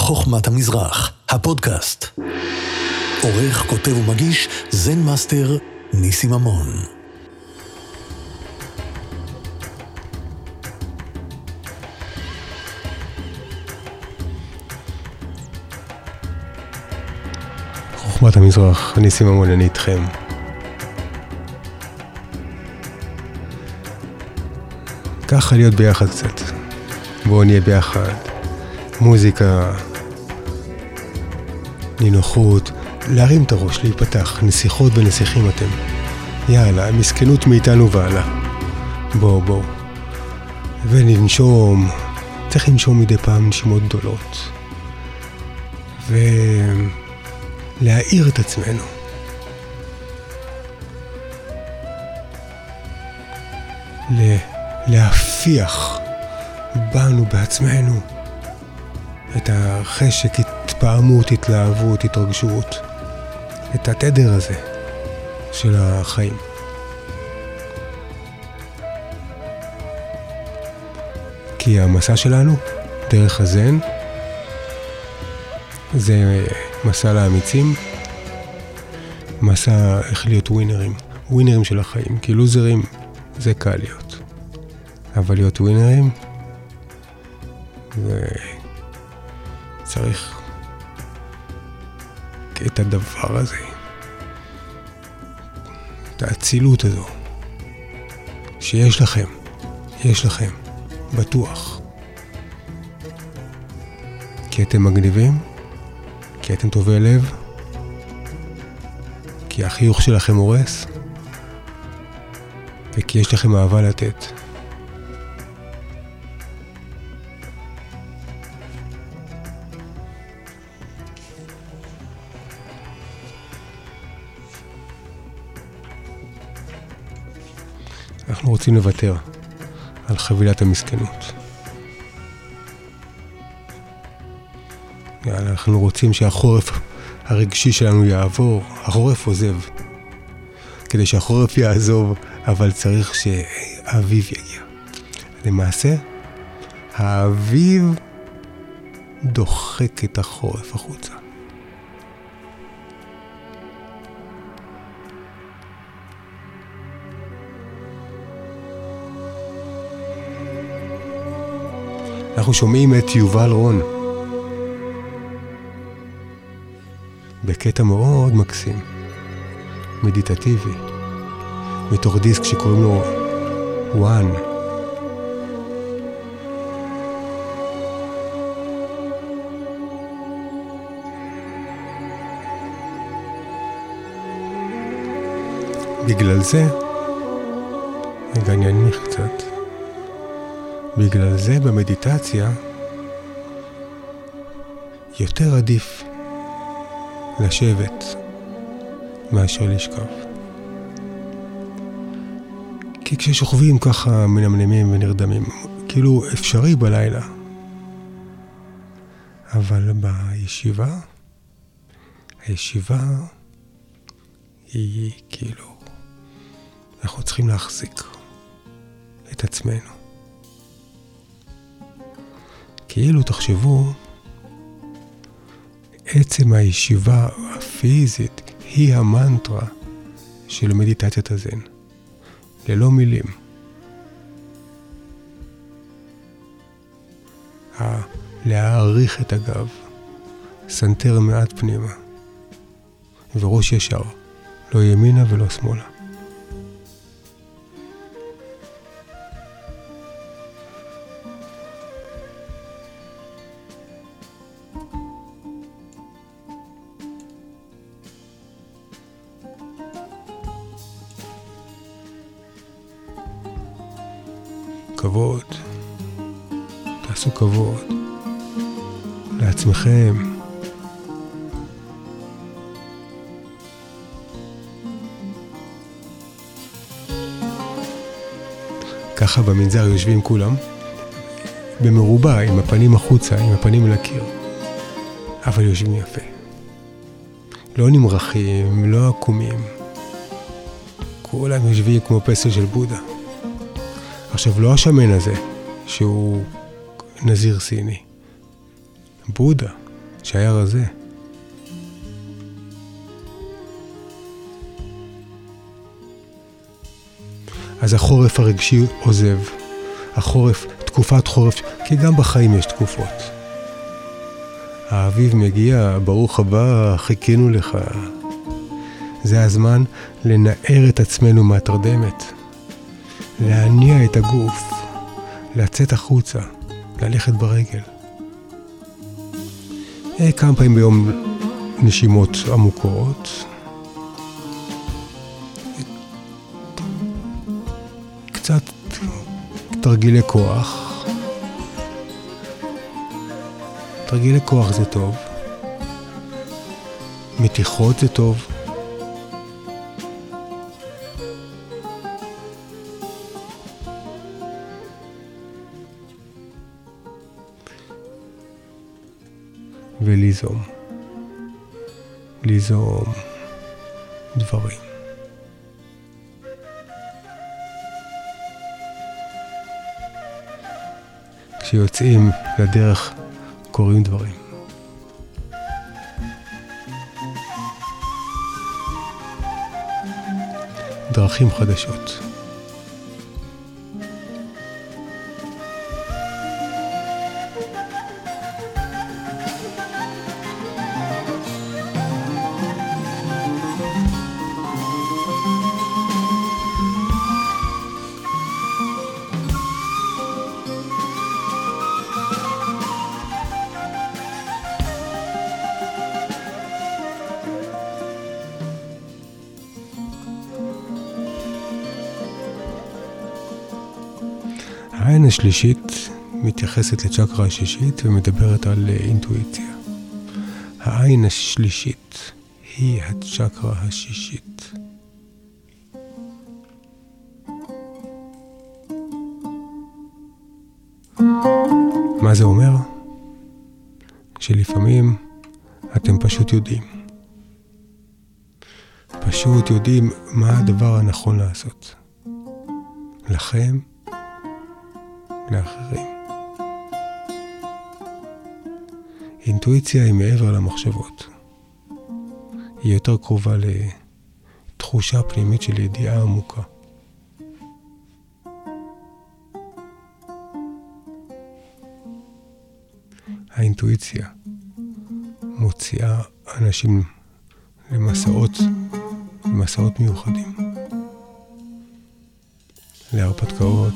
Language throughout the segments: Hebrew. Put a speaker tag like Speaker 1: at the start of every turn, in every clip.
Speaker 1: חוכמת המזרח, הפודקאסט. עורך, כותב ומגיש, זן מאסטר ניסי ממון. חוכמת המזרח, ניסי ממון, אני איתכם. ככה להיות ביחד קצת. בואו נהיה ביחד. מוזיקה, נינוחות, להרים את הראש, להיפתח, נסיכות ונסיכים אתם. יאללה, מסכנות מאיתנו ועלה. בואו. וננשום, צריך לנשום מדי פעם נשימות גדולות. ולהאיר את עצמנו. להפיח בנו בעצמנו את החשק, התפעמות, התלהבות, התרגשות, את התדר הזה של החיים. כי המסע שלנו, דרך הזן, זה מסע לאמיצים, מסע איך להיות ווינרים של החיים, כי לוזרים זה קל להיות. אבל להיות ווינרים, וצריך את הדבר הזה, את האצילות הזו, שיש לכם, בטוח. כי אתם מגניבים, כי אתם טובי לב, כי החיוך שלכם הורס, וכי יש לכם אהבה לתת. אנחנו רוצים לוותר על חבילת המסכנות. אנחנו רוצים שהחורף הרגשי שלנו יעבור. החורף עוזב. כדי שהחורף יעזוב, אבל צריך שהאביב יגיע. למעשה, האביב דוחק את החורף החוצה. אנחנו שומעים את יובל רון בקטע מאוד מקסים, מדיטטיבי, מתוך דיסק שקוראים לו One. בגלל זה, רגע אני אנמיך קצת. בגלל זה במדיטציה יותר עדיף לשבת מאשר לשכב. כי כששוכבים ככה מנמנמים ונרדמים, כאילו אפשרי בלילה. אבל הישיבה היא כאילו, אנחנו צריכים להחזיק את עצמנו. כאילו תחשבו, עצם הישיבה הפיזית היא המנטרה של מדיטציית הזן. ללא מילים. להעריך את הגב, סנטר מעט פנימה, וראש ישר, לא ימינה ולא שמאלה. כבוד, תעשו כבוד לעצמכם. ככה במנזר יושבים כולם במרובע, עם הפנים החוצה, עם הפנים אל הקיר, אבל יושבים יפה, לא נמרחים, לא עקומים, כולם יושבים כמו פסל של בודה. עכשיו, לא השמן הזה, שהוא נזיר סיני. בודה, שהיה רזה. אז החורף הרגשי עוזב. החורף, תקופת חורף, כי גם בחיים יש תקופות. האביב מגיע, ברוך הבא, חיכינו לך. זה הזמן לנער את עצמנו מהתרדמת. להניע את הגוף. לצאת החוצה. ללכת ברגל. כמה פעמים ביום נשימות עמוקות. קצת תרגילי כוח. תרגילי כוח זה טוב. מתיחות זה טוב. וליזום. ליזום דברים. כשיוצאים לדרך קורים דברים. דרכים חדשות. העין השלישית מתייחסת לצ'קרה השישית ומדברת על אינטואיציה. העין השלישית היא הצ'קרה השישית. מה זה אומר? שלפעמים אתם פשוט יודעים. פשוט יודעים מה הדבר הנכון לעשות. לכם, לאחרים. אינטואיציה היא מעבר למחשבות. היא יותר קרובה לתחושה פנימית של ידיעה עמוקה. האינטואיציה מוציאה אנשים למסעות מיוחדים. להרפתקאות.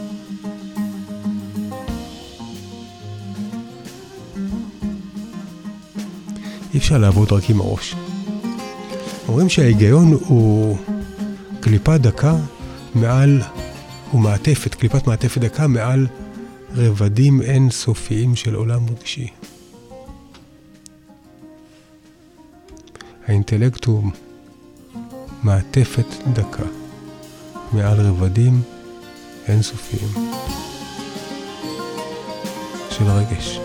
Speaker 1: אי אפשר לעבוד רק עם הראש. אומרים שההיגיון הוא קליפת דקה מעל, הוא מעטפת, קליפת מעטפת דקה מעל רבדים אינסופיים של עולם רגשי. האינטלקט הוא מעטפת דקה מעל רבדים אינסופיים של רגש.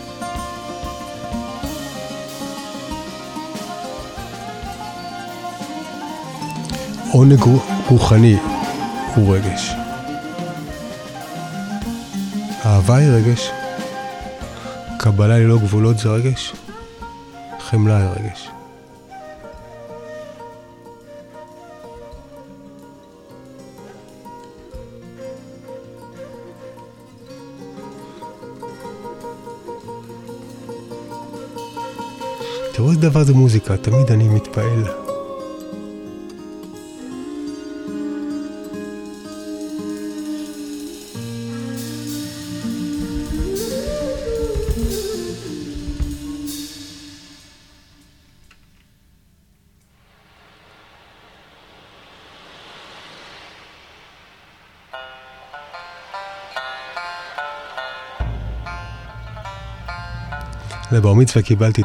Speaker 1: עונג רוחני הוא רגש. אהבה היא רגש. קבלה ללא גבולות זה רגש. חמלה היא רגש. תראו איזה דבר זה מוזיקה, תמיד אני מתפעל. לבר מצווה קיבלתי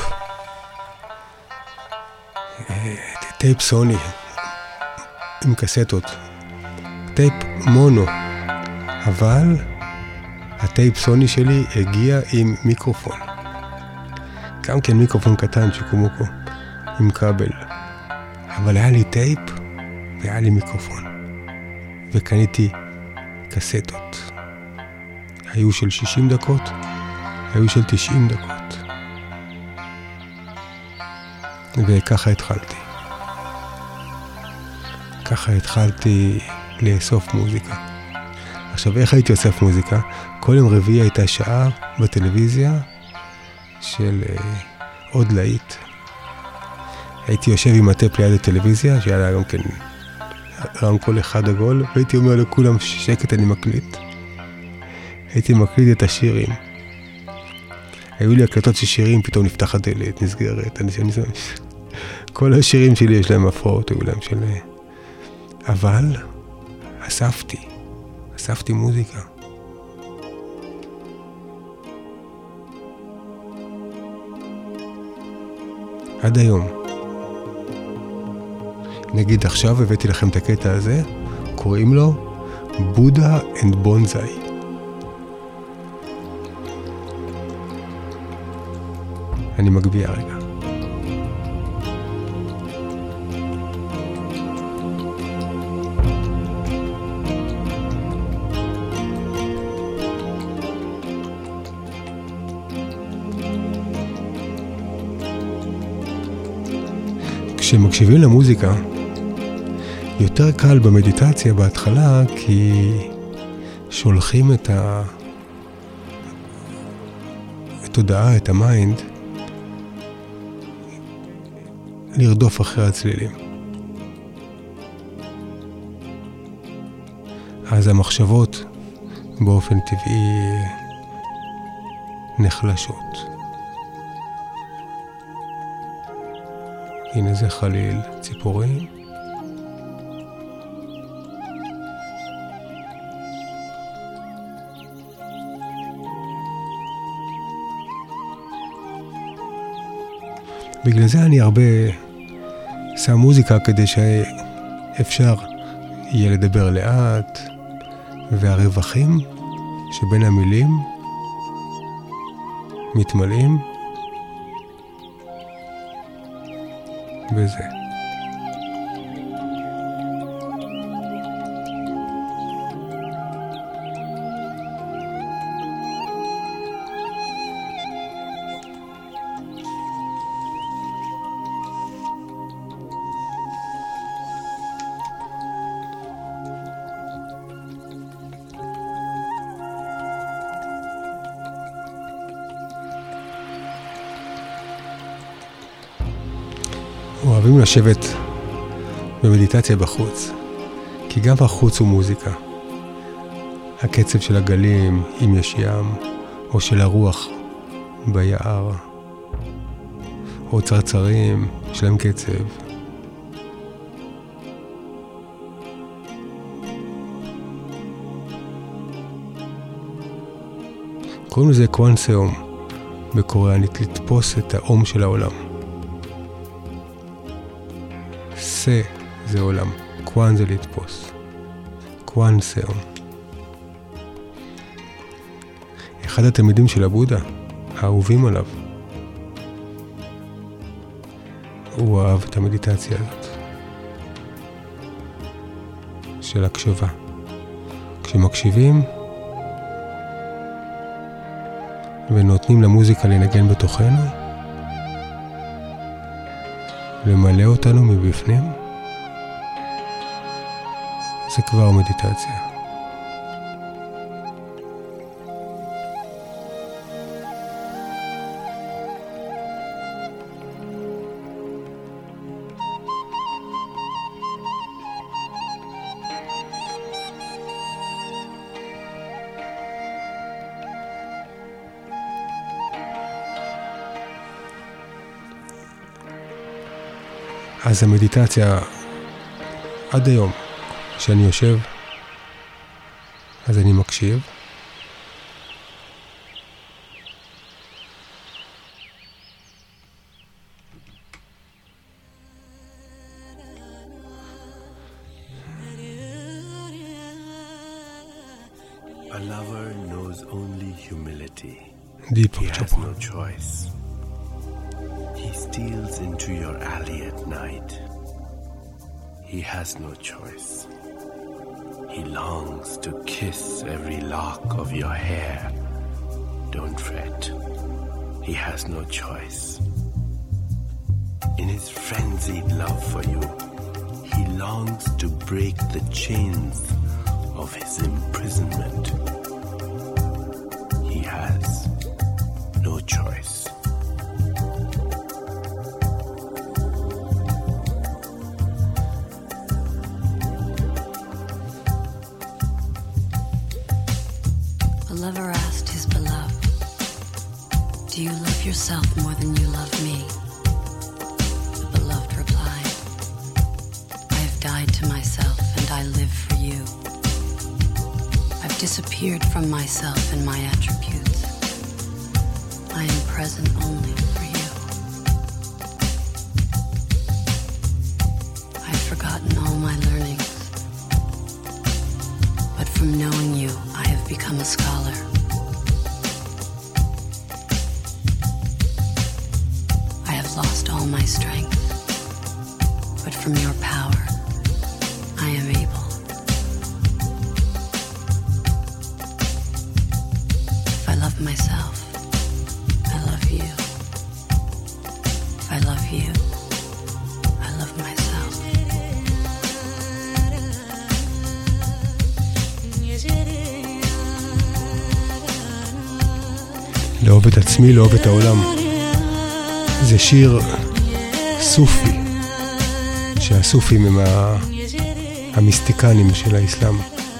Speaker 1: טייפ סוני עם קסטות, טייפ מונו, אבל הטייפ סוני שלי הגיע עם מיקרופון, גם כן מיקרופון קטן שקומוקו עם כבל, אבל היה לי טייפ והיה לי מיקרופון, וקניתי קסטות, היו של 60 דקות, היו של 90 דקות. וככה התחלתי. ככה התחלתי לאסוף מוזיקה. עכשיו, איך הייתי אוסף מוזיקה? כל יום רביעי הייתה שעה בטלוויזיה של עוד להיט. הייתי יושב עם הטפ ליד הטלוויזיה, שהיה לה גם כן רמקול אחד עגול, והייתי אומר לכולם שקט, אני מקליט. הייתי מקליט את השירים. היו לי הקלטות של שירים, פתאום נפתח הדלת, נסגרת. כל השירים שלי יש להם הפרעות, היו להם של... אבל אספתי מוזיקה. עד היום. נגיד עכשיו הבאתי לכם את הקטע הזה, קוראים לו בודה אנד בונזאי. אני מגביה רגע. כשמקשיבים למוזיקה, יותר קל במדיטציה בהתחלה, כי שולחים את התודעה, את המיינד, לרדוף אחרי הצלילים. אז המחשבות באופן טבעי נחלשות. הנה זה חליל, ציפורים. בגלל זה אני הרבה שם מוזיקה כדי שאפשר יהיה לדבר לאט, והרווחים שבין המילים מתמלאים בזה. אוהבים לשבת במדיטציה בחוץ, כי גם בחוץ הוא מוזיקה. הקצב של הגלים, אם יש ים, או של הרוח ביער, או צרצרים, יש להם קצב. קוראים לזה קוואנסיאום בקוריאנית, לתפוס את האום של העולם. זה עולם, קוואן זה לתפוס, קוואנסיאום. אחד התלמידים של הבודה, האהובים עליו, הוא אהב את המדיטציה הזאת של הקשבה. כשמקשיבים ונותנים למוזיקה לנגן בתוכנו, למלא אותנו מבפנים, זה כבר מדיטציה. אז המדיטציה, עד היום, כשאני יושב, אז אני מקשיב.
Speaker 2: A lover knows only humility.
Speaker 1: Deepak
Speaker 2: He has
Speaker 1: Chopra.
Speaker 2: no choice. He steals into your alley at night. He has no choice. He longs to kiss every lock of your hair. Don't fret. He has no choice. In his frenzied love for you, he longs to break the chains of his imprisonment. He has no choice.
Speaker 3: A lover asked his beloved, "Do you love yourself more than you love me?" The beloved replied, "I have died to myself and I live for you. I've disappeared from myself and my attributes. I am present only for you. I've forgotten all my learnings, but from knowing you, I have become a scholar. I have lost all my strength, but from your power, I am able. If I love myself, I love you. If I love you, I love myself."
Speaker 1: לאהוב את עצמי, לאהוב את העולם. זה שיר סופי, שהסופים הם המיסטיקנים של האסלאם.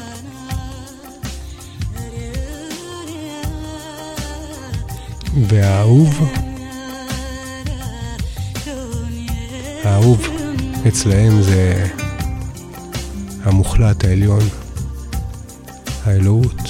Speaker 1: והאהוב אצלהם זה המוחלט, העליון, האלוהות.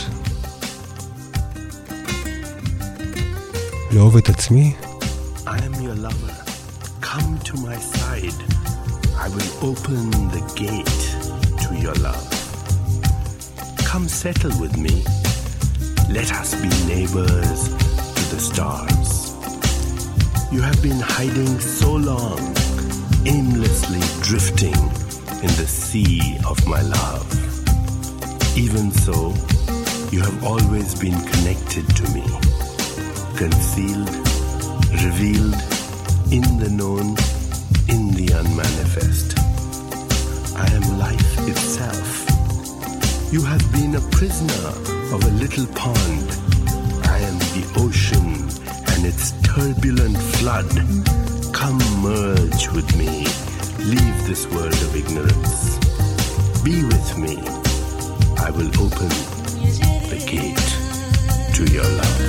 Speaker 1: לאהוב את עצמי,
Speaker 2: I am your lover. Come to my side. I will open the gate to your love. Come settle with me. Let us be neighbors to the stars. You have been hiding so long, aimlessly drifting in the sea of my love. Even so, you have always been connected to me. Concealed, revealed, in the known, in the unmanifest. I am life itself. You have been a prisoner of a little pond. I am the ocean and its turbulent flood. Come merge with me. Leave this world of ignorance. Be with me. I will open the gate to your love.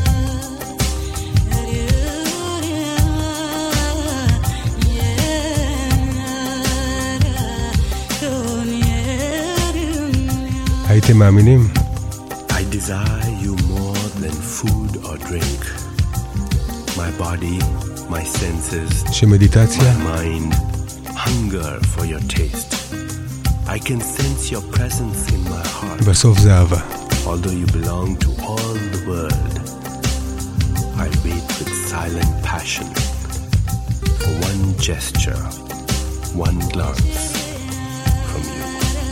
Speaker 1: הייתם מאמינים?
Speaker 2: I desire you more than food or drink. My body, my senses,
Speaker 1: שמדיטציה,
Speaker 2: my mind hunger for your taste. I can sense your presence in my heart.
Speaker 1: בסוף זה אהבה.
Speaker 2: Although you belong to all the world, I wait with silent passion for one gesture, one glance from you.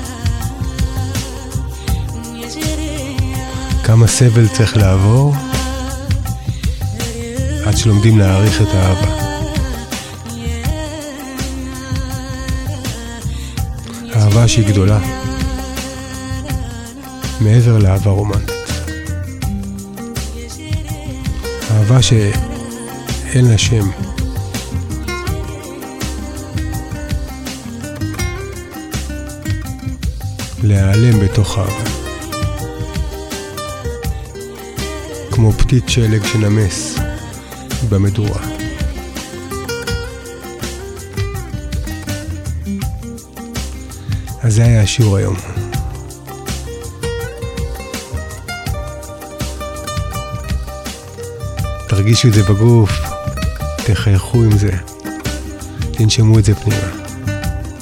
Speaker 1: כמה סבל צריך לעבור עד שלומדים להעריך את האהבה. אהבה שהיא גדולה, מעבר לאהבה רומנטית. אהבה שאין לה שם. להיעלם בתוך אהבה. כמו פתית שלג שנמס במדורה. אז זה היה השיעור היום. תרגישו את זה בגוף, תחייכו עם זה, תנשמו את זה פנימה.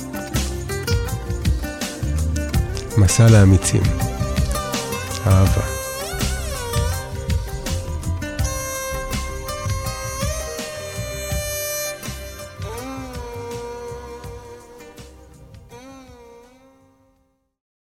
Speaker 1: מסע לאמיצים, אהבה.